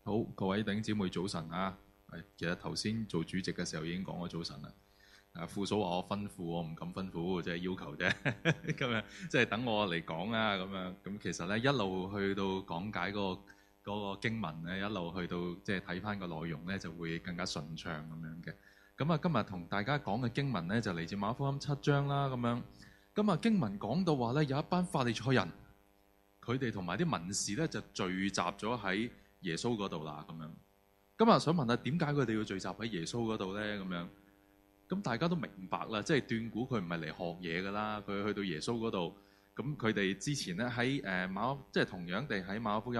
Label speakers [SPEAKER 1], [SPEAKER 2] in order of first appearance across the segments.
[SPEAKER 1] 好，各位弟兄姊妹早晨啊！其實頭先做主席嘅時候已經講咗早晨啦。副數話我吩咐，我唔敢吩咐，即係要求啫。咁樣即係等我嚟講啦。咁樣咁其實咧一路去到講解嗰個經文咧，一路去到即係睇翻個內容咧，就會更加順暢咁樣嘅。咁啊，今日同大家講嘅經文咧就嚟自馬可福音7章啦。咁樣咁啊，經文講到話咧，有一班法利賽人，佢哋同埋啲文士咧就聚集咗喺耶穌嗰度啦，咁樣。咁啊，想問下點解佢哋要聚集喺耶穌嗰度咧？咁樣，咁大家都明白啦，即係斷估佢唔係嚟學嘢噶啦，佢去到耶穌嗰度。咁佢哋之前咧喺即係同樣地喺馬可福音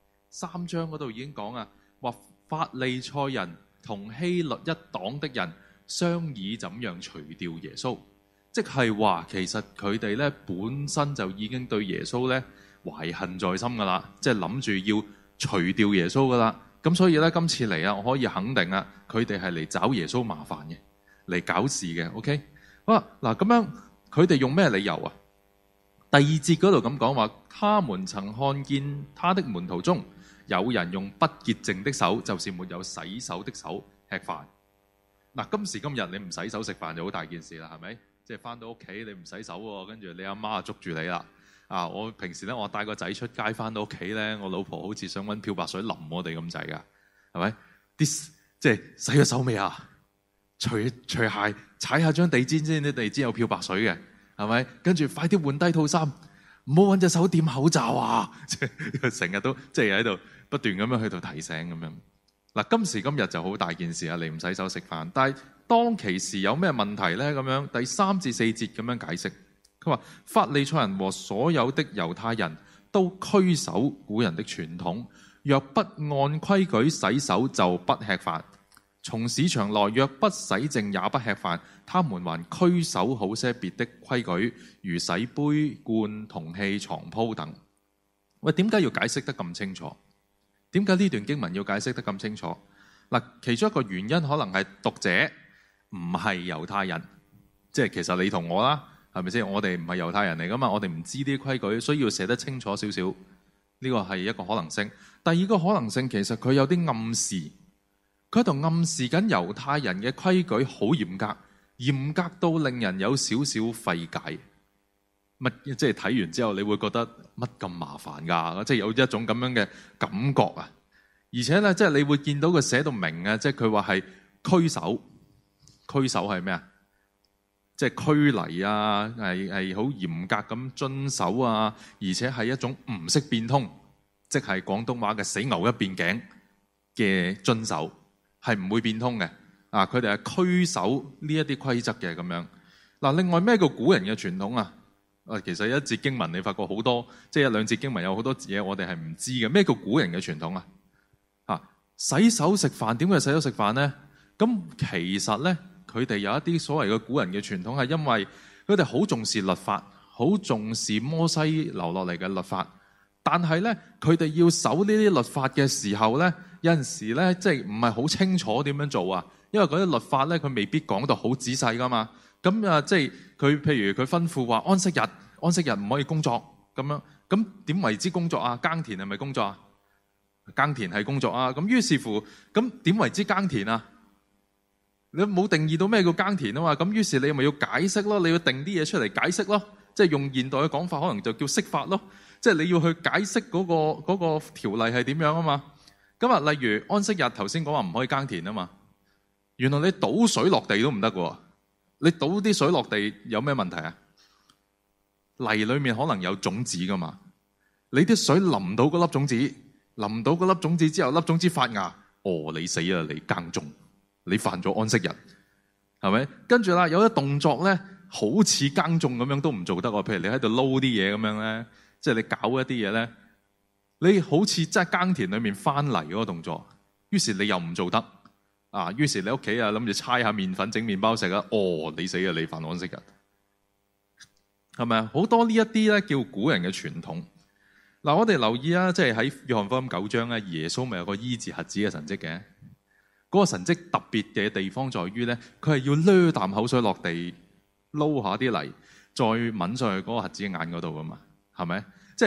[SPEAKER 1] 3章嗰度已經講啊，話法利賽人同希律一黨的人商議怎樣除掉耶穌，即係話其實佢哋咧本身就已經對耶穌咧懷恨在心噶啦，即係諗住要除掉耶穌噶啦，咁所以咧今次嚟啊，我可以肯定啊，佢哋係嚟找耶穌麻煩嘅，嚟搞事嘅。OK， 好啦，嗱咁樣佢哋用咩理由啊？第2節嗰度咁講話，他們曾看見他的門徒中有人用不潔淨的手，就是沒有洗手的手吃飯。嗱，今時今日你唔洗手食飯就好大件事啦，係咪？即係翻到屋企你唔洗手喎，跟住你阿媽捉住你啦。我平時咧，我帶個仔出街翻到屋企咧，我老婆好似想揾漂白水淋我哋咁滯噶，係咪？啲即係洗咗手未啊？除鞋踩下張地氈先，啲地氈有漂白水嘅，係咪？跟住快啲換低套衫，唔好揾隻手掂口罩啊！即係成日都即係喺度不斷咁樣去到提醒咁樣。嗱，今時今日就好大件事啊！你唔洗手食飯，但係當其時有咩問題咧？咁樣第3至4節咁樣解釋。佢話法利賽人和所有的猶太人都拘守古人的傳統，若不按規矩洗手就不吃飯，從市場來若不洗淨也不吃飯。他們還拘守好些別的規矩，如洗杯罐、銅器、床鋪等。喂，點解要解釋得咁清楚？點解呢段經文要解釋得咁清楚？嗱，其中一個原因可能係讀者唔係猶太人，即係其實你同我啦。係咪先？我哋唔係猶太人嚟噶嘛，我哋唔知啲規矩，所以要寫得清楚少少。呢個係一個可能性。第二個可能性，其實佢有啲暗示，佢喺度暗示緊猶太人嘅規矩好嚴格，嚴格到令人有少少費解。即係睇完之後，你會覺得乜咁麻煩㗎？即係有一種咁樣嘅感覺啊！而且咧，即係你會見到佢寫到明啊，即係佢話係拘守，拘守係咩啊？即係拘泥啊，係好嚴格咁遵守啊，而且係一種唔識變通，即係廣東話嘅死牛一邊頸嘅遵守，係唔會變通嘅。佢哋係拘守呢一啲規則嘅咁樣。嗱，另外咩叫古人嘅傳統啊？其實一節經文你發覺好多，即係一兩節經文有好多嘢我哋係唔知嘅。咩叫古人嘅傳統啊？洗手食飯，點解洗手食飯呢？咁其實呢。佢哋有一啲所謂嘅古人嘅傳統，係因為佢哋好重視律法，好重視摩西留落嚟嘅律法。但係咧，佢哋要守呢啲律法嘅時候咧，有陣時咧，即係唔係好清楚點樣做啊？因為嗰啲律法咧，佢未必講到好仔細噶嘛。咁啊，即係佢譬如佢吩咐話安息日唔可以工作咁樣。咁點為之工作啊？耕田係咪工作啊？耕田係工作啊。咁於是乎，咁點為之耕田啊？你冇定義到咩叫耕田啊嘛，咁於是你咪要解釋咯，你要定啲嘢出嚟解釋咯，即係用現代嘅講法，可能就叫釋法咯，即係你要去解釋嗰個條例係點樣啊嘛。咁啊，例如安息日頭先講話唔可以耕田啊嘛，原來你倒水落地都唔得喎，你倒啲水落地有咩問題啊？泥裏面可能有種子噶嘛，你啲水淋到嗰粒種子，淋到嗰粒種子之後，粒種子發芽，你死啊！你耕種。你犯咗安息日，係咪？跟住啦，有啲動作咧，好似耕種咁樣都唔做得喎。譬如你喺度撈啲嘢咁樣咧，即係你搞一啲嘢咧，你好似真係耕田裏面翻嚟嗰個動作，於是你又唔做得啊。於是你屋企啊諗住猜下麵粉整麵包食啊，你死啊！你犯安息日，係咪啊？好多呢一啲咧叫古人嘅傳統。嗱，我哋留意啊，即係喺約翰福音9章咧，耶穌咪有個醫治瞎子嘅神蹟嘅。嗰個神蹟特別嘅地方在於咧，佢係要掠啖口水落地，撈下啲泥，再抿上去嗰個瞎子嘅眼嗰度噶嘛，係咪？即係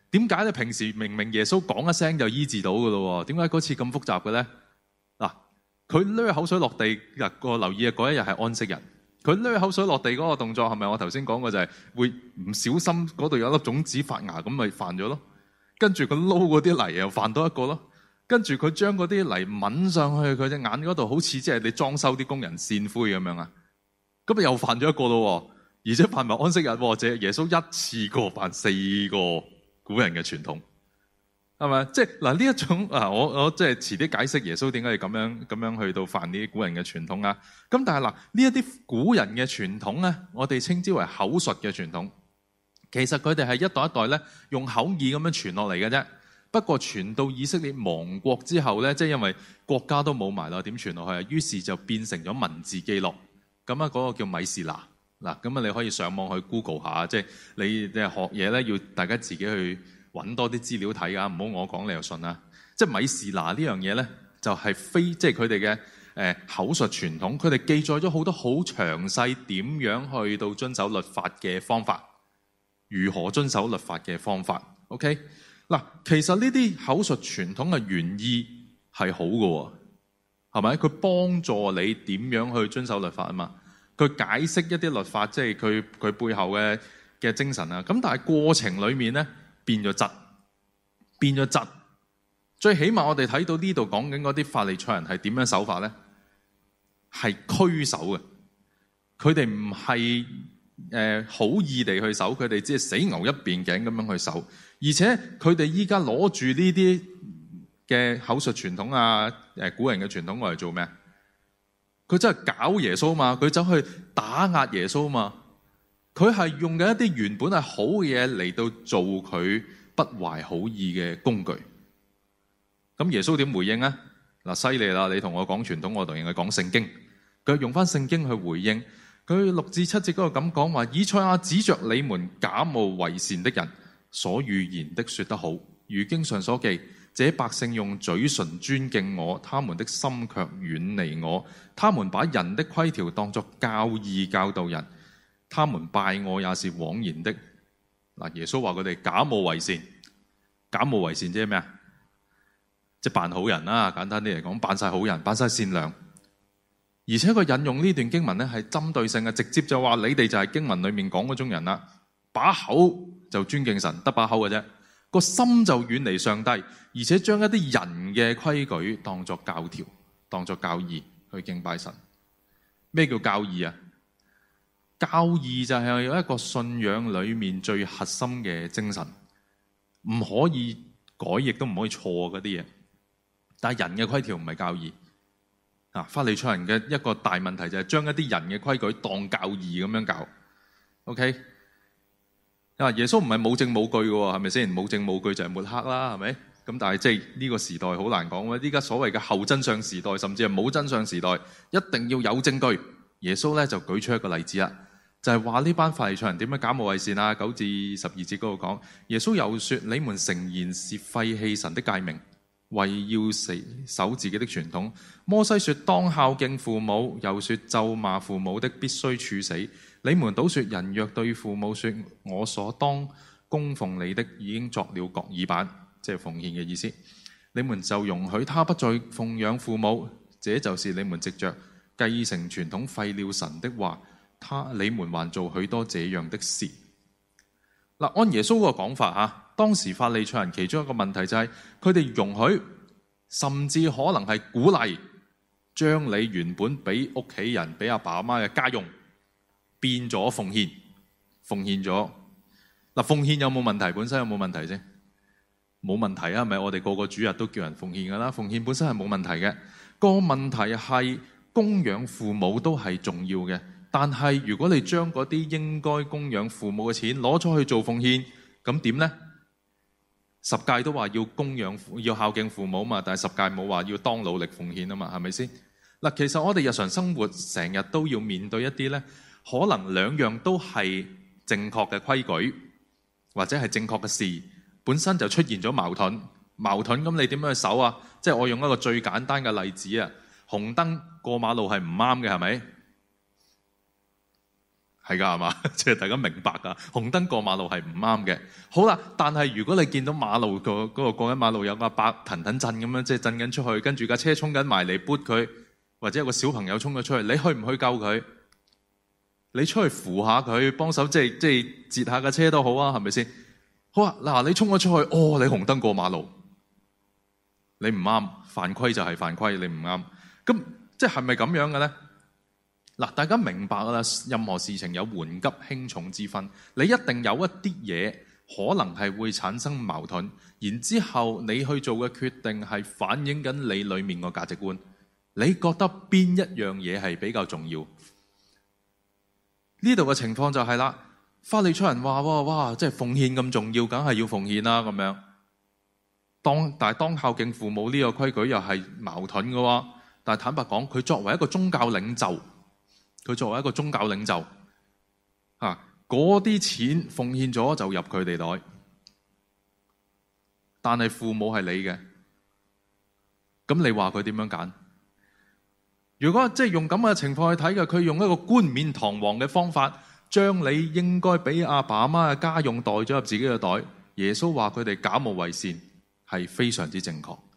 [SPEAKER 1] 點解咧？平時明明耶穌講一聲就醫治到㗎咯，點解嗰次咁複雜嘅咧？嗱，佢濺口水落地，留意嗰一日係安息日。佢濺口水落地嗰個動作係咪我頭先講過就係會唔小心嗰度有粒種子發芽，咁咪犯咗咯？跟住佢撈嗰啲泥又犯多一個咯。跟住佢將嗰啲泥抿上去佢隻眼嗰度，好似即係你裝修啲工人扇灰咁樣啊！咁咪又犯咗一個咯，而且犯埋安息日，即係耶穌一次過犯4個古人嘅傳統，係咪？即係嗱呢一種我即係遲啲解釋耶穌點解要咁樣去到犯呢啲古人嘅傳統啊！咁但係嗱，呢一啲古人嘅傳統咧，我哋稱之為口述嘅傳統，其實佢哋係一代一代咧用口耳咁樣傳落嚟嘅啫。不過傳到以色列亡國之後咧，即係因為國家都冇埋啦，點傳落去啊？於是就變成咗文字記錄。咁啊，嗰個叫米士拿嗱。咁啊，你可以上網去 Google 下，即係你學嘢咧，要大家自己去揾多啲資料睇啊，唔好我講你就信啦。即係米士拿呢樣嘢咧，就係即係佢哋嘅口述傳統，佢哋記載咗好多好詳細點樣去到遵守律法嘅方法，如何遵守律法嘅方法。OK。嗱，其實呢啲口述傳統嘅原意係好嘅，係咪？佢幫助你點樣去遵守律法啊嘛？佢解釋一啲律法，即係佢背後嘅精神啊。咁但係過程裏面咧變咗質。最起碼我哋睇到呢度講緊嗰啲法利賽人係點樣守法咧？係拘守嘅，佢哋唔係好意地去守，佢哋只係死牛一邊頸咁樣去守。而且佢哋依家攞住呢啲嘅口述傳統啊，古人嘅傳統，我嚟做咩？佢真係搞耶穌嘛？佢走去打壓耶穌嘛？佢係用緊一啲原本係好嘅嘢嚟到做佢不懷好意嘅工具。咁耶穌點回應啊？嗱，犀利啦！你同我講傳統，我同你講聖經。佢用翻聖經去回應。佢6至7節嗰度咁講話：以賽亞指着你們假冒為善的人所預言的說得好，如經上所記，這百姓用嘴唇尊敬我，他們的心卻遠離我。他們把人的規條當作教義教導人，他們拜我也是枉然的。嗱，耶穌話佢哋假冒為善，假冒為善即係咩啊？即係扮好人啦，簡單啲嚟講，扮晒好人，扮晒善良。而且佢引用呢段經文咧，係針對性嘅，直接就話你哋就係經文裡面講嗰種人啦，把口就尊敬神，得把口嘅啫，個心就遠離上帝，而且將一啲人嘅規矩當作教條，當作教義去敬拜神。咩叫教義啊？教義就係有一個信仰裡面最核心嘅精神，唔可以改，亦都唔可以錯嗰啲嘢。但係人嘅規條唔係教義。法利賽人嘅一個大問題就係將一啲人嘅規矩當教義咁樣教。OK， 耶穌唔係冇證冇據嘅，係咪先？冇證冇據就係抹黑啦，係咪？咁但係即係呢個時代好難講喎。依家所謂嘅後真相時代，甚至係冇真相時代，一定要有證據。耶穌咧就舉出一個例子啦，就係話呢班法利賽人點樣假冒為善啊？9至12節嗰度講，耶穌又說：你們誠然是廢棄神的誡命，為要守自己的傳統。摩西說當孝敬父母，又說咒罵父母的必須處死。你們倒說人若對父母說我所當供奉你的已經作了各耳板，即係奉獻嘅意思，你們就容許他不再奉養父母，這就是你們藉着繼承傳統廢了神的話，你們還做許多這樣的事。嗱，按耶穌個講法嚇，當時法利賽人其中一個問題就係佢哋容許，甚至可能係鼓勵，將你原本俾屋企人、俾阿爸阿媽嘅家用變咗奉獻咗。嗱，奉獻有冇問題？本身有冇問題啫？冇問題啊，係咪？我哋個個主日都叫人奉獻噶啦，奉獻本身係冇問題嘅。個問題係供養父母都係重要嘅，但係如果你將嗰啲應該供養父母嘅錢攞咗去做奉獻，咁點呢？10誡都話要供養要孝敬父母嘛，但係10誡冇話要當努力奉獻啊嘛，係咪先？嗱，其實我哋日常生活成日都要面對一啲呢，可能兩樣都係正確嘅規矩，或者係正確嘅事，本身就出現咗矛盾。咁你點樣去守啊？即係我用一個最簡單嘅例子啊，紅燈過馬路係唔啱嘅，係咪？ 係㗎係嘛？即係大家明白㗎，紅燈過馬路係唔啱嘅。好啦，但係如果你見到馬路嗰個過緊馬路有個阿伯騰騰震咁樣，即係震緊出去，跟住架車衝緊埋嚟撥佢，或者有個小朋友衝咗出去，你去唔去救佢？你出去扶下佢，幫手即係截下架車都好啊，係咪先？好啊，嗱，你衝咗出去，你紅燈過馬路，你唔啱，犯規就係犯規，你唔啱。咁即係咪咁樣嘅咧？嗱，大家明白啦，任何事情有緩急輕重之分，你一定有一啲嘢可能係會產生矛盾，然之後你去做嘅決定係反映緊你裡面個價值觀。你覺得邊一樣嘢係比較重要？呢度嘅情況就係啦，法利賽人話：哇，即係奉獻咁重要，梗係要奉獻啦咁樣。但係當孝敬父母呢個規矩又係矛盾嘅喎。但係坦白講，佢作為一個宗教領袖，嗰啲錢奉獻咗就入佢哋袋，但係父母係你嘅，咁你話佢點樣揀？如果即係用咁嘅情況去睇嘅，佢用一個冠冕堂皇嘅方法，將你應該俾阿爸阿媽嘅家用袋咗入自己嘅袋。耶穌話佢哋假冒為善，係非常之正確。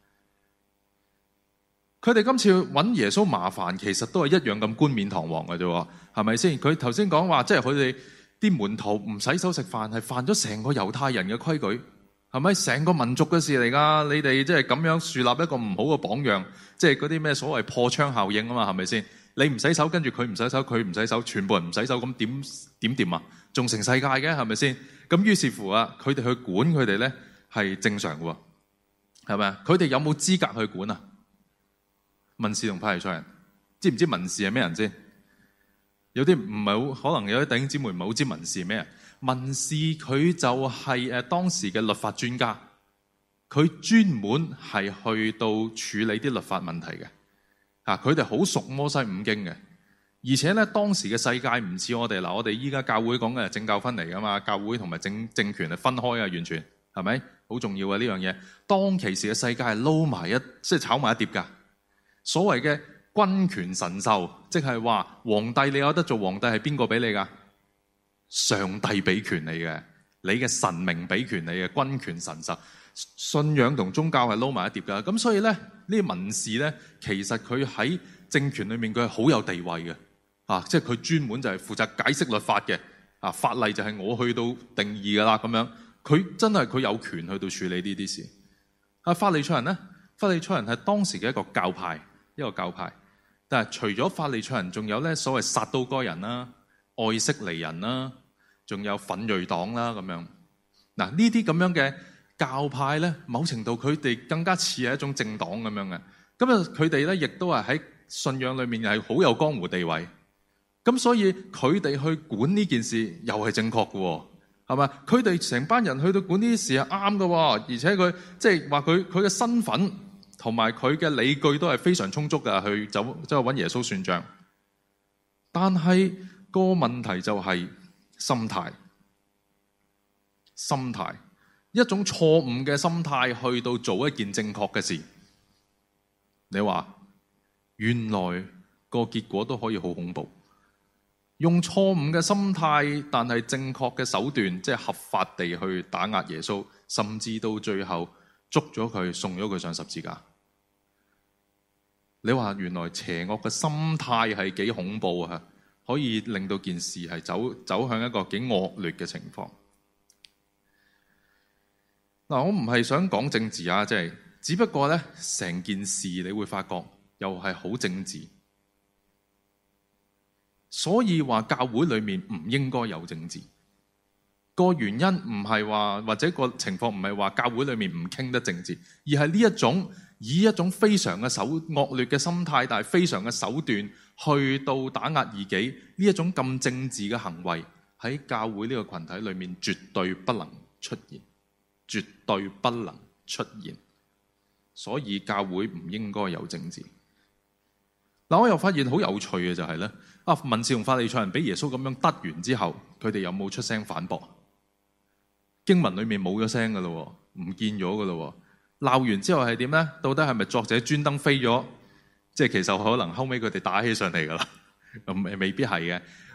[SPEAKER 1] 佢哋今次揾耶穌麻煩，其實都係一樣咁冠冕堂皇嘅啫，係咪先？佢頭先講話，即係佢哋啲門徒唔洗手食飯，係犯咗成個猶太人嘅規矩。係咪成個民族嘅事嚟㗎？你哋即係咁樣樹立一個唔好嘅榜樣，即係嗰啲咩所謂破窗效應啊嘛？係咪先？你唔洗手，跟住佢唔洗手，佢唔洗手，全部人唔洗手，咁點掂啊？仲成世界嘅係咪先？咁於是乎啊，佢哋去管佢哋咧係正常嘅喎，係咪啊？佢哋有冇資格去管啊？文士同法利賽人，知唔知文士係咩人先？有啲唔係好，可能有啲弟兄姊妹唔係好知文士係咩人。文士佢就係當時嘅律法專家，佢專門係去到處理啲律法問題嘅。佢哋好熟摩西五經嘅，而且咧當時嘅世界唔似我哋嗱，我哋依家教會講嘅係政教分離噶嘛，教會同埋政權係分開啊，完全係咪？好重要啊呢樣嘢。當其時嘅世界係撈埋即係炒埋一碟噶。所謂嘅君權神授，即係話皇帝你有得做皇帝係邊個俾你噶？上帝俾權你嘅，你嘅神明俾權你嘅，君權神授，信仰同宗教係撈埋一碟噶。咁所以咧，呢啲文士咧，其實佢喺政權裏面佢係好有地位嘅，即係佢專門就係負責解釋律法嘅，法例就係我去到定義噶啦咁樣。佢真係佢有權去到處理呢啲事。法利賽人咧，法利賽人係當時嘅一個教派，但係除咗法利賽人，仲有咧所謂撒都該人啦、愛色尼人啦。仲有奮銳黨啦咁樣，嗱呢啲咁樣嘅教派咧，某程度佢哋更加似係一種政黨咁樣嘅。咁啊，佢哋咧亦都係喺信仰裏面係好有江湖地位。咁所以佢哋去管呢件事又係正確嘅，係咪？佢哋成班人去到管呢啲事係啱嘅，而且佢即係話佢嘅身份同埋佢嘅理據都係非常充足嘅，去走去揾耶穌算賬。但係個問題就係心態，一種錯誤嘅心態去到做一件正確嘅事，你話原來個結果都可以好恐怖。用錯誤嘅心態，但係正確嘅手段，即係合法地去打壓耶穌，甚至到最後捉咗佢，送咗佢上十字架。你話原來邪惡嘅心態係幾恐怖啊！可以令到件事係走向一個幾惡劣嘅情況。嗱，我唔係想講政治啊，即係只不過咧，成件事你會發覺又係好政治。所以話教會裏面唔應該有政治。個原因唔係話，或者個情況唔係話教會裏面唔傾得政治，而係呢一種以一種非常嘅惡劣嘅心態，但係非常嘅手段去到打壓異己，呢一種咁政治嘅行為喺教會呢個群體裏面絕對不能出現，絕對不能出現。所以教會唔應該有政治。嗱，我又發現好有趣嘅就係咧，文士同法利賽人俾耶穌咁樣得完之後，佢哋有冇出聲反駁？經文裏面冇咗聲噶咯，唔見咗噶咯。鬧完之後係點咧？到底係咪作者專登飛咗？即係其實可能後尾佢哋打起上嚟噶啦，未必係嘅。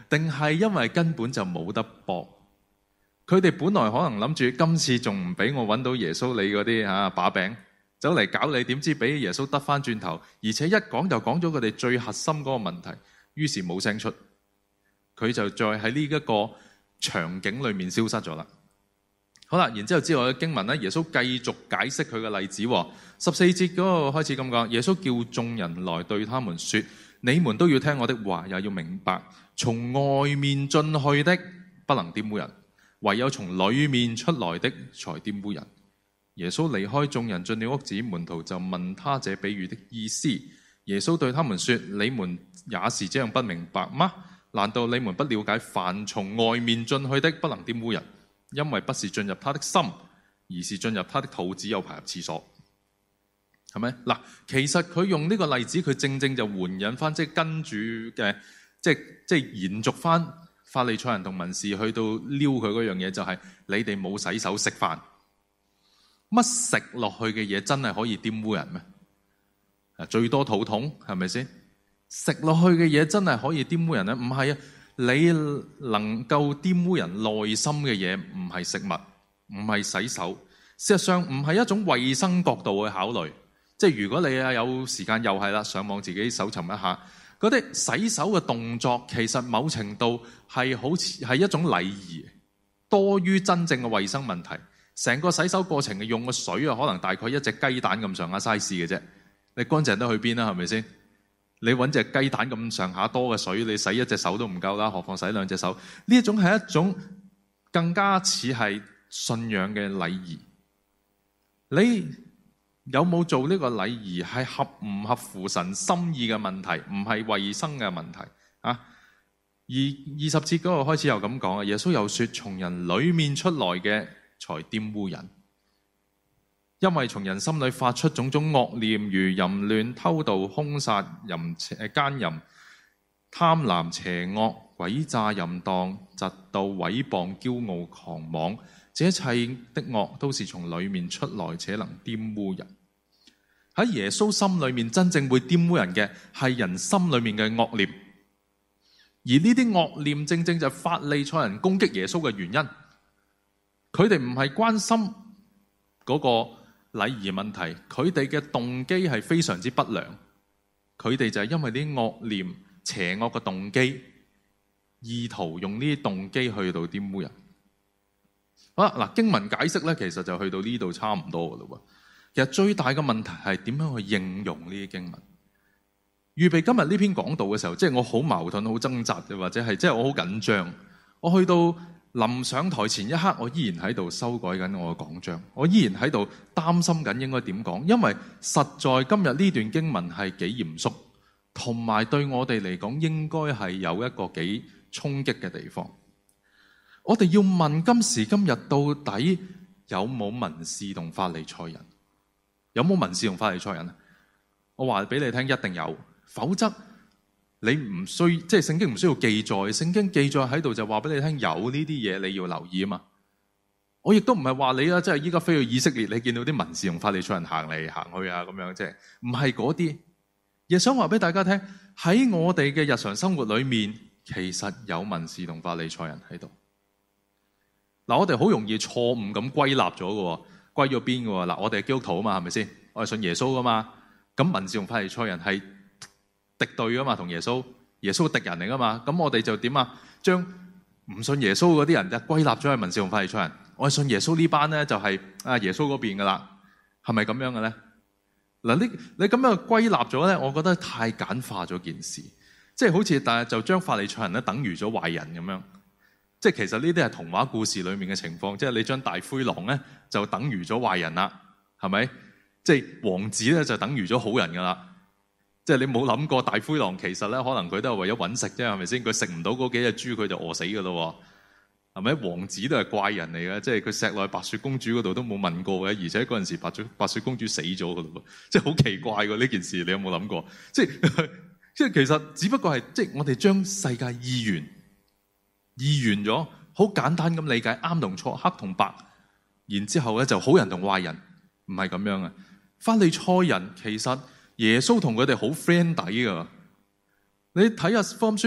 [SPEAKER 1] 定係因為根本就冇得搏？佢哋本來可能諗住今次仲唔俾我揾到耶穌你嗰啲把柄，走嚟搞你，點知俾耶穌得翻轉頭，而且一講就講咗佢哋最核心嗰個問題，於是冇聲出，佢就再喺呢一個場景裏面消失咗啦。好啦，然之後之後嘅經文咧，耶穌繼續解釋佢嘅例子。14節嗰個開始咁講，耶穌叫眾人來對他們說：你們都要聽我的話，也要明白，從外面進去的不能玷污人，唯有從裡面出來的才玷污人。耶穌離開眾人進了屋子，門徒就問他這比喻的意思。耶穌對他們說：你們也是這樣不明白嗎？難道你們不了解，凡從外面進去的不能玷污人，因為不是進入他的心，而是進入他的肚，只有排入廁所，係咪？嗱，其實佢用呢個例子，佢正正就援引翻，即係跟住嘅，即係延續翻法利賽人同文士去到撩佢嗰樣嘢，就係你哋冇洗手食飯，乜食落去嘅嘢真係可以玷污人咩？最多肚痛，係咪先？食落去嘅嘢真係可以玷污人咧？唔係啊！你能夠玷污人內心嘅嘢，唔係食物，唔係洗手，事實上唔係一種衛生角度去考慮。即係如果你有時間，又係啦，上網自己搜尋一下嗰啲洗手嘅動作，其實某程度係好似係一種禮儀，多於真正嘅衛生問題。成個洗手過程嘅用嘅水啊，可能大概一隻雞蛋咁上下 size 嘅啫。你乾淨得去邊啦？係咪先？你揾隻雞蛋咁上下多嘅水，你洗一隻手都唔夠啦，何況洗兩隻手？呢一種係一種更加似係信仰嘅禮儀。你有冇做呢個禮儀係合唔合乎神心意嘅問題，唔係衛生嘅問題啊。而20節嗰個開始又咁講啊，耶穌又說：從人裡面出來嘅才玷污人。因為從人心裏發出種種惡念，如淫亂、偷盜、兇殺、奸淫、貪婪、邪惡、詭詐、淫蕩、嫉妒、毀謗、驕傲、狂妄，這一切的惡都是從裏面出來，且能玷污人。喺耶穌心裏面真正會玷污人嘅係人心裏面嘅惡念，而呢啲惡念正正就係法利賽人攻擊耶穌嘅原因。佢哋唔係關心嗰個禮儀問題，佢哋嘅動機係非常之不良，佢哋就係因為啲惡念、邪惡嘅動機，意圖用呢啲動機去到玷污人。好啦，嗱，經文解釋咧，其實就去到呢度差唔多噶啦。其實最大嘅問題係點樣去應用呢啲經文。預備今日呢篇講道嘅時候，即係我好矛盾、好掙扎嘅，或者係即係我好緊張。我去到臨上台前一刻，我依然喺度修改緊我嘅講章，我依然喺度擔心緊應該點講，因為實在今日呢段經文係幾嚴肅，同埋對我哋嚟講應該係有一個幾衝擊嘅地方。我哋要問今時今日到底有冇文士同法利賽人？有冇文士同法利賽人？我話俾你聽，一定有，否則你唔需即係聖經唔需要記載，聖經記載喺度就話俾你聽有呢啲嘢你要留意啊嘛。我亦都唔係話你啊，即係依家飛去以色列，你見到啲文士同法利賽人行嚟行去啊咁樣，即係唔係嗰啲。亦想話俾大家聽，喺我哋嘅日常生活裏面，其實有文士同法利賽人喺度。嗱，我哋好容易錯誤咁歸納咗嘅，歸咗邊嘅。嗱，我哋係基督徒啊嘛，係咪先？我係信耶穌噶嘛，咁文士同法利賽人係敵對噶嘛，同耶穌，耶穌敵人嚟噶嘛，咁我哋就點啊？將唔信耶穌嗰啲人就歸納咗係文士同法利賽人，我係信耶穌呢班咧就係耶穌嗰邊噶啦，係咪咁樣嘅咧？嗱，你咁樣歸納咗咧，我覺得太簡化咗件事，即係好似就將法利賽人咧等於咗壞人咁樣，即係其實呢啲係童話故事裏面嘅情況，即係你將大灰狼咧就等於咗壞人啦，係咪？即係王子咧就等於咗好人噶啦。即係你冇諗過大灰狼其實咧，可能佢都係為咗揾食啫，係咪先？佢食唔到嗰幾隻豬，佢就餓死噶咯，係咪？王子都係怪人嚟嘅，即係佢錫落去白雪公主嗰度都冇問過嘅，而且嗰陣時白雪公主死咗噶咯，即係好奇怪喎呢件事，你有冇諗過？即係其實只不過係即係我哋將世界二元咗，好簡單咁理解啱同錯、黑同白，然之後咧就好人同壞人，唔係咁樣啊！法利賽人其實耶穌同佢哋好 friend 底噶，你睇下福音書，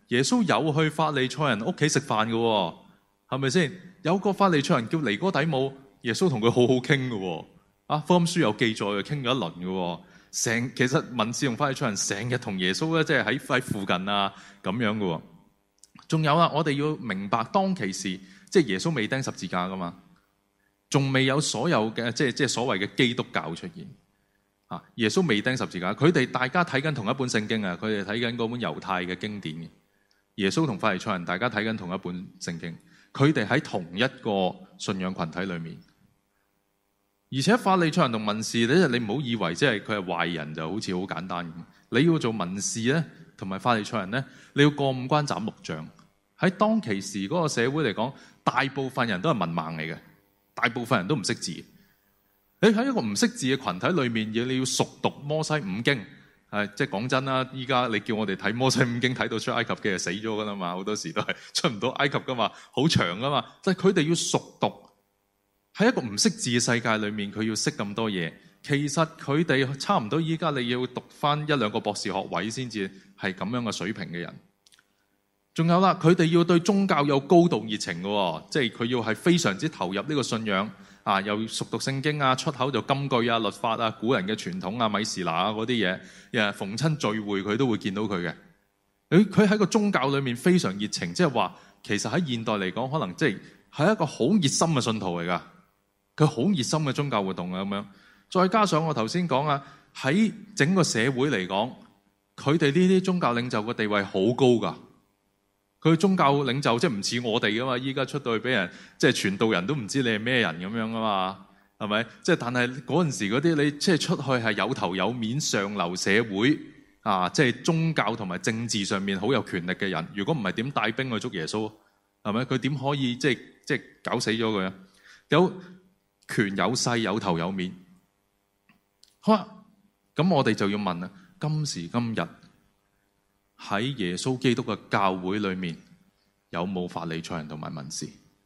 [SPEAKER 1] 耶穌有去法利賽人屋企食飯嘅，係咪先？有個法利賽人叫尼哥底母，耶穌同佢好好傾嘅，福音書有記載嘅，傾咗一輪嘅。其實文士同法利賽人成日同耶穌咧，即係喺附近啊咁樣嘅。仲有啦，我哋要明白當其時，即係耶穌未釘十字架噶嘛，仲未有所有嘅即係所謂嘅基督教出現。耶穌未釘十字架，佢哋大家睇緊同一本聖經啊，佢哋睇緊嗰本猶太嘅經典嘅。耶穌同法利賽人大家睇緊同一本聖經，佢哋喺同一個信仰群體裏面。而且法利賽人同文士咧，你唔好以為即係佢係壞人就好似好簡單咁。你要做文士咧，同埋法利賽人咧，你要過五關斬六將。喺當其時嗰個社會嚟講，大部分人都係文盲嚟嘅，大部分人都唔識字。你喺一個唔識字嘅群體裏面，你要熟讀摩西五經。即係講真啦，依家你叫我哋睇摩西五經睇到出埃及嘅就死咗噶啦嘛，好多時都係出唔到埃及噶嘛，好長噶嘛。即係佢哋要熟讀。喺一個唔識字嘅世界裏面，佢要識咁多嘢。其實佢哋差唔多依家你要讀翻一兩個博士學位先至係咁樣嘅水平嘅人。仲有啦，佢哋要對宗教有高度熱情嘅，即係佢要係非常之投入呢個信仰啊，又熟讀聖經啊，出口就金句啊、律法啊、古人嘅傳統啊、米士拿啊嗰啲嘢，逢親聚會佢都會見到佢嘅。佢喺個宗教裏面非常熱情，即係話其實喺現代嚟講，可能即係一個好熱心嘅信徒嚟㗎。佢好熱心嘅宗教活動啊，咁樣，再加上我頭先講啊，喺整個社會嚟講，佢哋呢啲宗教領袖嘅地位好高㗎。佢宗教領袖即係唔似我哋㗎嘛，依家出到去俾人即係傳道人都唔知你係咩人咁樣㗎嘛，係咪？即係但係嗰陣時嗰啲你即係出去係有頭有面上流社會啊，即係宗教同埋政治上面好有權力嘅人，如果唔係點帶兵去捉耶穌？係咪？佢點可以即係搞死咗佢啊？有權有勢有頭有面，好啦，咁我哋就要問啦：今時今日喺耶穌基督嘅教會裏面，有冇法利賽人同埋文士？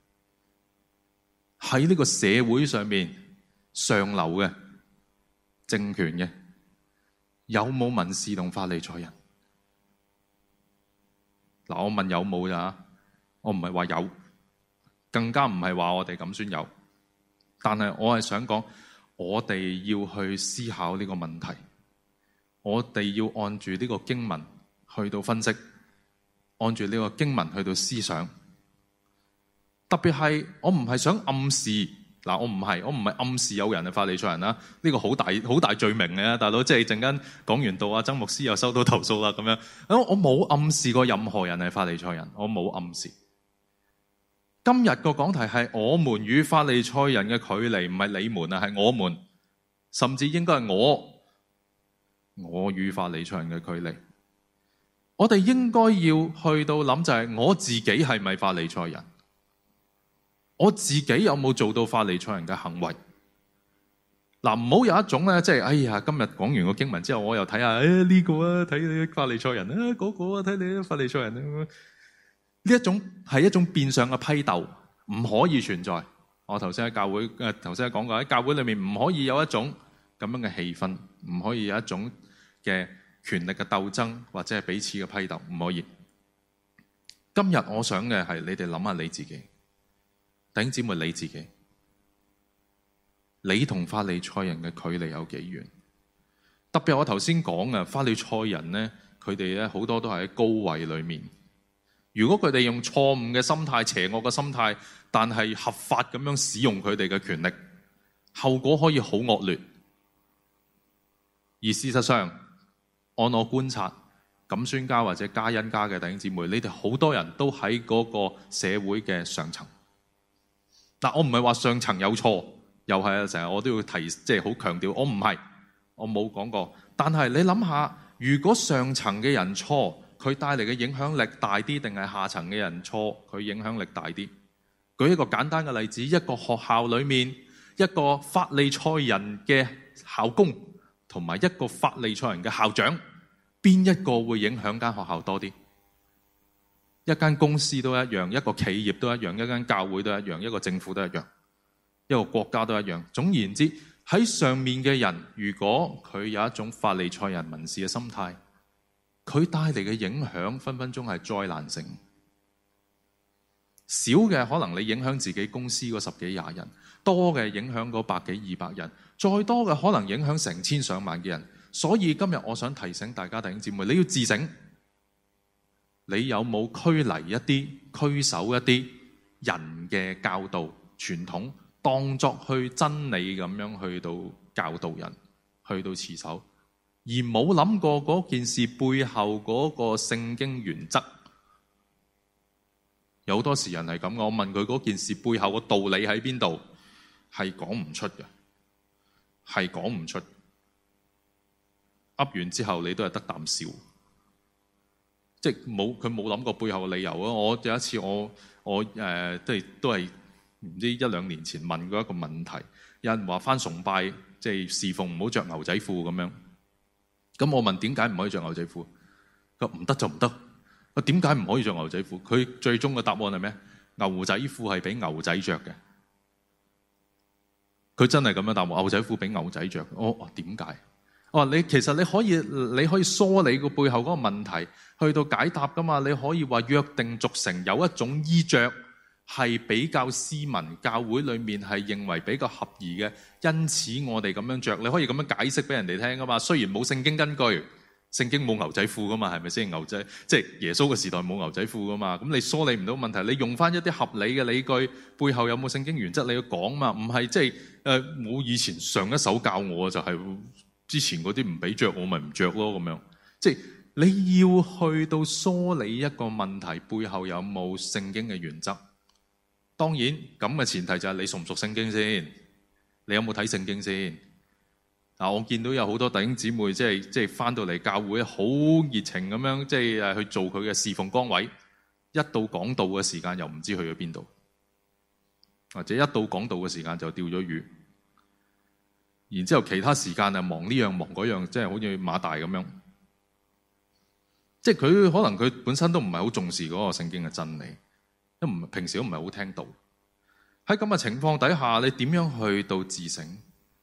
[SPEAKER 1] 喺呢個社會上面上流嘅政權嘅，有冇文士同法利賽人？嗱，我問有冇咋？我唔係話有，更加唔係話我哋咁先有。但係我係想講，我哋要去思考呢個問題，我哋要按住呢個經文去到分析，按住呢個經文去到思想。特別係我唔係想暗示，嗱，我唔係暗示有人係法利賽人啦，呢個好大罪名嘅，大佬，即係陣間講完道啊，曾牧師又收到投訴啦咁樣。我冇暗示過任何人係法利賽人，我冇暗示。今日個講題係我們與法利賽人嘅距離，唔係你們啊，係我們，甚至應該係我與法利賽人嘅距離。我哋應該要去到諗就係我自己係咪法利賽人？我自己有冇做到法利賽人嘅行為？嗱，唔好有一種咧，即係哎呀，今日講完個經文之後，我又睇下呢個啊，睇你法利賽人啊，嗰個啊，睇你法利賽人啊。呢一種係一種變相嘅批鬥，唔可以存在。我頭先喺教會頭先講過，喺教會裏面唔可以有一種咁樣嘅氣氛，唔可以有一種嘅權力嘅鬥爭，或者係彼此嘅批鬥，唔可以。今日我想嘅係你哋諗下你自己，弟兄姊妹你自己，你同法利賽人嘅距離有幾遠？特別我頭先講啊，法利賽人咧，佢哋咧好多都係喺高位裏面。如果佢哋用錯誤嘅心態、邪惡嘅心態，但係合法咁樣使用佢哋嘅權力，後果可以好惡劣。而事實上，按我觀察，錦宣家或者加恩家嘅弟兄姊妹，你哋好多人都喺嗰個社會嘅上層。嗱，我唔係話上層有錯，又係成日我都要提，即係好強調，我唔係，我冇講過。但係你諗下，如果上層嘅人錯，佢帶嚟嘅影響力大啲，定係下層嘅人錯，佢影響力大啲？舉一個簡單嘅例子，一個學校裏面，一個法利賽人嘅校工同埋一個法利賽人嘅校長，邊一個會影響間學校多啲？一間公司都一樣，一個企業都一樣，一間教會都一樣，一個政府都一樣，一個國家都一樣。總言之，喺上面嘅人，如果佢有一種法利賽人文士嘅心態， 佢帶嚟嘅影響分分鐘係災難性。少嘅可能你影響自己公司嗰10幾20人，多嘅影響嗰100幾200人，再多嘅可能影響成千上萬嘅人。所以今日我想提醒大家弟兄姊妹，你要自省，你有冇拘泥一啲、拘守一啲人嘅教導傳統，當作去真理咁樣去到教導人，去到持守，而冇諗過嗰件事背後嗰個聖經原則。有好多時人係咁嘅，我問佢嗰件事背後個道理喺邊度，係講唔出嘅，係講唔出。噏完之後你都係得啖笑，即係佢冇諗過背後嘅理由啊！我有一次我都係唔知1-2年前問過一個問題，有人話返崇拜即係侍奉唔好着牛仔褲咁樣，咁我問點解唔可以着牛仔褲？佢話唔得就唔得。我點解唔可以着牛仔褲？佢最終嘅答案係咩？牛仔褲係俾牛仔着嘅。佢真係咁樣答我，牛仔褲俾牛仔着。我點解？我話其實你可以梳理個背後嗰個問題，去到解答噶嘛。你可以話約定俗成有一種衣着係比較斯文，教會裡面係認為比較合宜嘅，因此我哋咁樣着。你可以咁樣解釋俾人哋聽噶嘛。雖然冇聖經根據。聖經冇牛仔褲噶嘛，係咪先？牛仔即係耶穌嘅時代冇牛仔褲噶嘛，咁你梳理唔到問題，你用翻一啲合理嘅理據，背後有冇聖經原則你要講嘛？唔係即係我以前上一手教我就係之前嗰啲唔俾着，我咪唔着咯咁樣。即係你要去到梳理一個問題背後有冇聖經嘅原則。當然咁嘅前提就係你熟唔熟聖經先，你有冇睇聖經先？我見到有好多弟兄姊妹即係翻到嚟教會好熱情咁樣，即係去做佢嘅侍奉崗位。一到講道嘅時間又唔知去咗邊度，或者一到講道嘅時間就釣咗魚。然之後其他時間啊忙呢樣忙嗰樣，即係好似馬大咁樣。即係佢可能佢本身都唔係好重視嗰個聖經嘅真理，都唔平時都唔係好聽道。喺咁嘅情況底下，你點樣去到自省？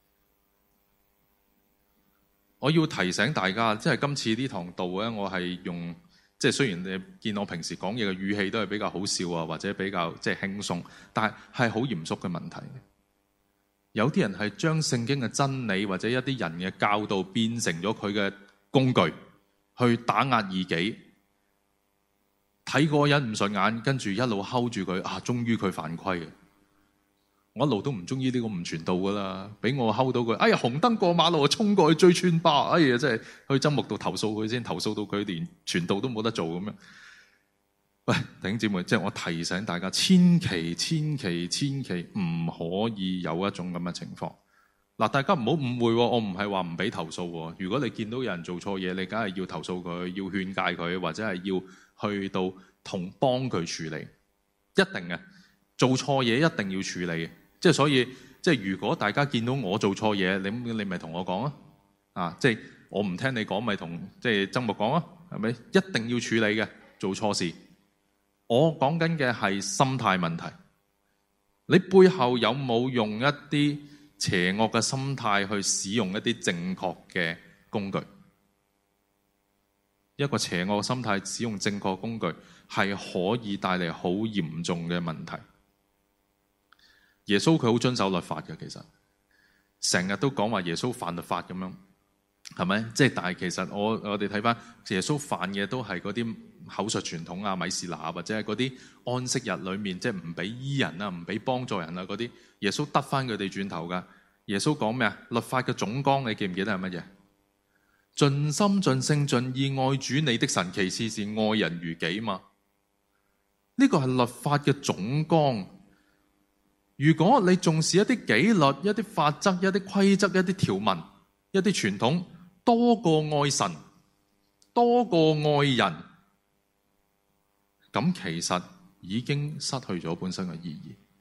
[SPEAKER 1] 我要提醒大家，即係今次呢堂道咧，我係用即係雖然你見我平時講嘢嘅語氣都係比較好笑啊，或者比較即係輕鬆，但係好嚴肅嘅問題。有啲人係將聖經嘅真理或者一啲人嘅教導變成咗佢嘅工具，去打壓異己。睇個人唔順眼，跟住一路睺住佢啊，終於佢犯規嘅。我一路都唔中意呢個唔傳道噶啦，俾我睺到佢，哎呀紅燈過馬路，衝過去追穿巴，哎呀真係去針木度投訴佢先，投訴到佢連傳道都冇得做咁樣。喂，弟兄姊妹，即係我提醒大家，千祈唔可以有一種咁嘅情況。嗱，大家唔好誤會，我唔係話唔俾投訴。如果你見到有人做錯嘢，你梗係要投訴佢，要勸誡佢，或者係要去到幫佢處理，一定嘅。做錯嘢一定要處理。即係所以，即係如果大家見到我做錯嘢，你咪同我講啊！啊，即係我唔聽你講，咪同即係曾牧講啊，係咪？一定要處理嘅，做錯事。我講緊嘅係心態問題。你背後有冇用一啲邪惡嘅心態去使用一啲正確嘅工具？一個邪惡嘅心態使用正確工具，係可以帶嚟好嚴重嘅問題。耶穌佢好遵守律法嘅，其實成日都講話耶穌犯律法咁樣，係咪？即係但係其實我哋睇翻耶穌犯嘅都係嗰啲口述傳統啊、米士拿啊，或者係嗰啲安息日裏面即係唔俾醫人啊、唔俾幫助人啊嗰啲，耶穌得翻佢哋轉頭噶。耶穌講咩啊？律法嘅總綱你記唔記得係乜嘢？盡心盡性盡意愛主你的神，其次是愛人如己嘛。呢個係律法嘅總綱。如果你重視一啲紀律、一啲法則、一啲規則、一啲條文、一啲傳統，多過愛神、多過愛人，咁其實已經失去咗本身嘅意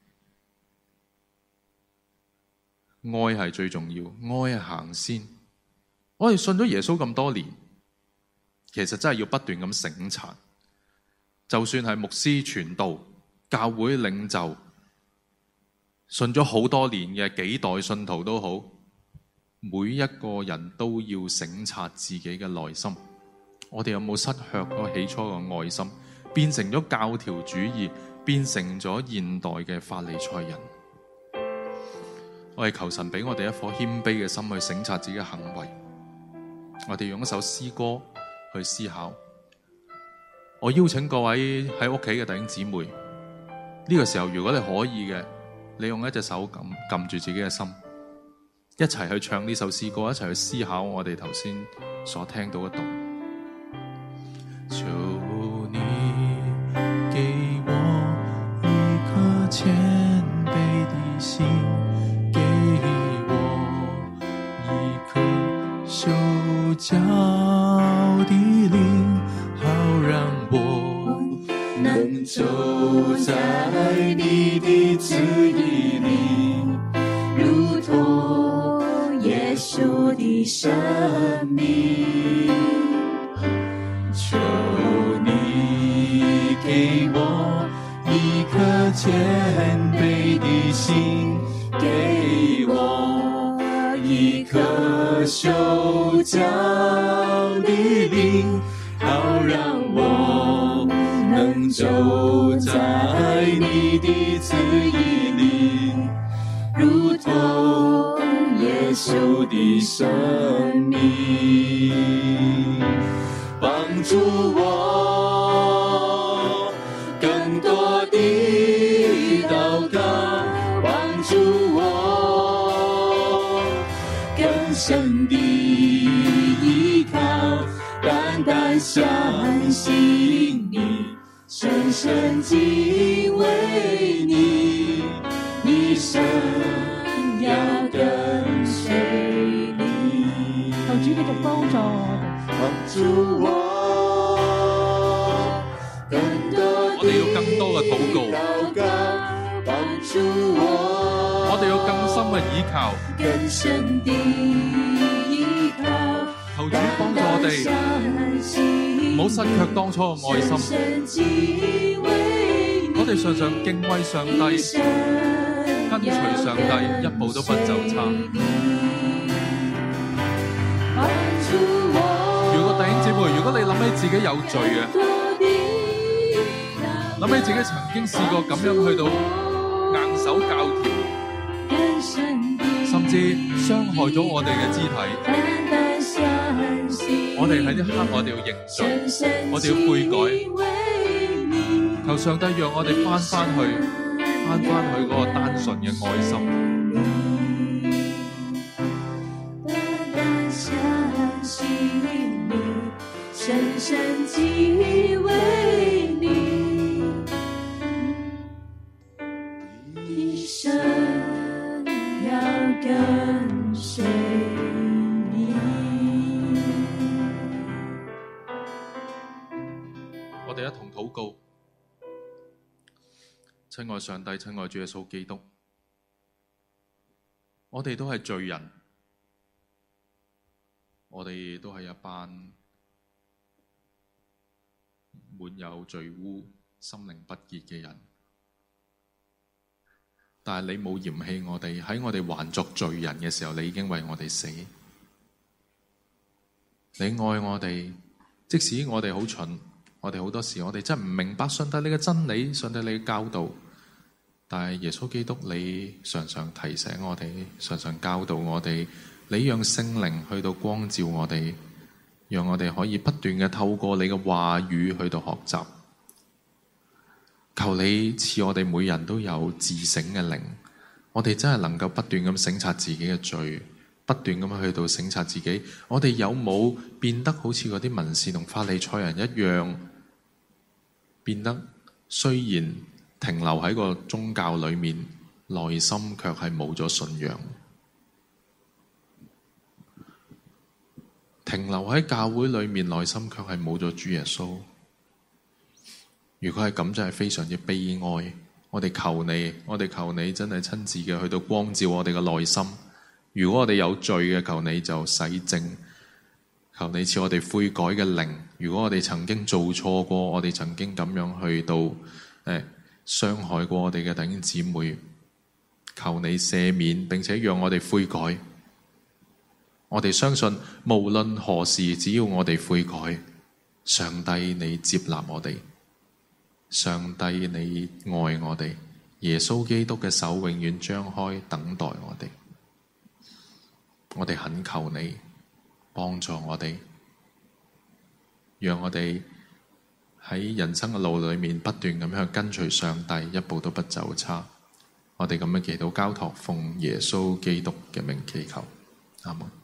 [SPEAKER 1] 義。愛係最重要，愛係行先。我哋信咗耶穌咁多年，其實真係要不斷咁省察。就算係牧師傳道、教會領袖，信咗好多年嘅幾代信徒都好，每一個人都要省察自己嘅內心， 我哋有冇失卻嗰起初嘅愛心，變成咗教條主義，變成咗現代嘅法利賽人？我哋求神俾我哋一顆謙卑嘅心去省察自己嘅行為。我哋用一首詩歌去思考。我邀請各位喺屋企嘅弟兄姊妹，呢個時候如果你可以嘅，你用一隻手撳住自己嘅心，一齊去唱呢首詩歌，一齊去思考我哋頭先所聽到嘅道。求你給我一顆謙卑的心，給我一顆受教的靈，好讓我能走在你的旨意裡，如同耶穌的生命。求你給我一顆謙卑的心，給我一顆受教的靈，好讓我能走在你的旨意裡，如同耶穌的生命。幫助我更多的禱告，幫助我更深的依靠，單單相信你，深深敬畏你，一生要跟隨你。求主繼續幫助我哋。幫助我更多，我哋要更多嘅禱告，幫助我哋要更深嘅倚靠，更深的依靠。求主幫助我哋，唔好失卻當初嘅愛心。我哋常常敬畏上帝，跟隨上帝，一步都不走差。弟兄姊妹，如果你諗起自己有罪嘅，諗起自己曾經試過咁樣去到硬守教條，甚至傷害咗我哋嘅肢體，我哋喺呢刻我哋要認罪，我哋要悔改，求上帝讓我哋翻去嗰個單純嘅愛心。深深敬畏你，一生要跟隨你。我哋一同禱告，親愛上帝，親愛主耶穌基督，我哋都係罪人，我哋都係一班滿有罪污、心靈不潔嘅人，但係你冇嫌棄我哋，喺我哋還作罪人嘅時候，你已經為我哋死。你愛我哋，即使我哋好蠢，我哋好多時我哋真係唔明白上帝你嘅真理，上帝你嘅教導，但係耶穌基督你常常提醒我哋，常常教導我哋，你讓聖靈去到光照我哋，讓我哋可以不斷嘅透過你嘅話語去到學習。求你賜我哋每人都有自省嘅靈，我哋真係能夠不斷咁省察自己嘅罪，不斷咁去到省察自己，我哋有冇變得好似嗰啲文士同法利賽人一樣，變得雖然停留喺個宗教裏面，內心卻係冇咗信仰。停留喺教會裏面，內心卻係冇咗主耶穌。如果係咁，真係非常之悲哀。我哋求你，我哋求你真係親自嘅去到光照我哋嘅內心。如果我哋有罪嘅，求你就洗淨，求你賜我哋悔改嘅靈。如果我哋曾經做錯過，我哋曾經咁樣去到傷害過我哋嘅弟兄姊妹，求你赦免，並且讓我哋悔改。我哋相信無論何時，只要我哋悔改， 上帝你接納我哋，上帝你愛我哋，耶穌基督嘅手永遠張開等待我哋。我哋懇求你幫助我哋，讓我哋喺人生嘅路裏面不斷咁樣跟隨上帝，一步都不走差。我哋咁樣祈禱交託，奉耶穌基督嘅名祈求，阿門。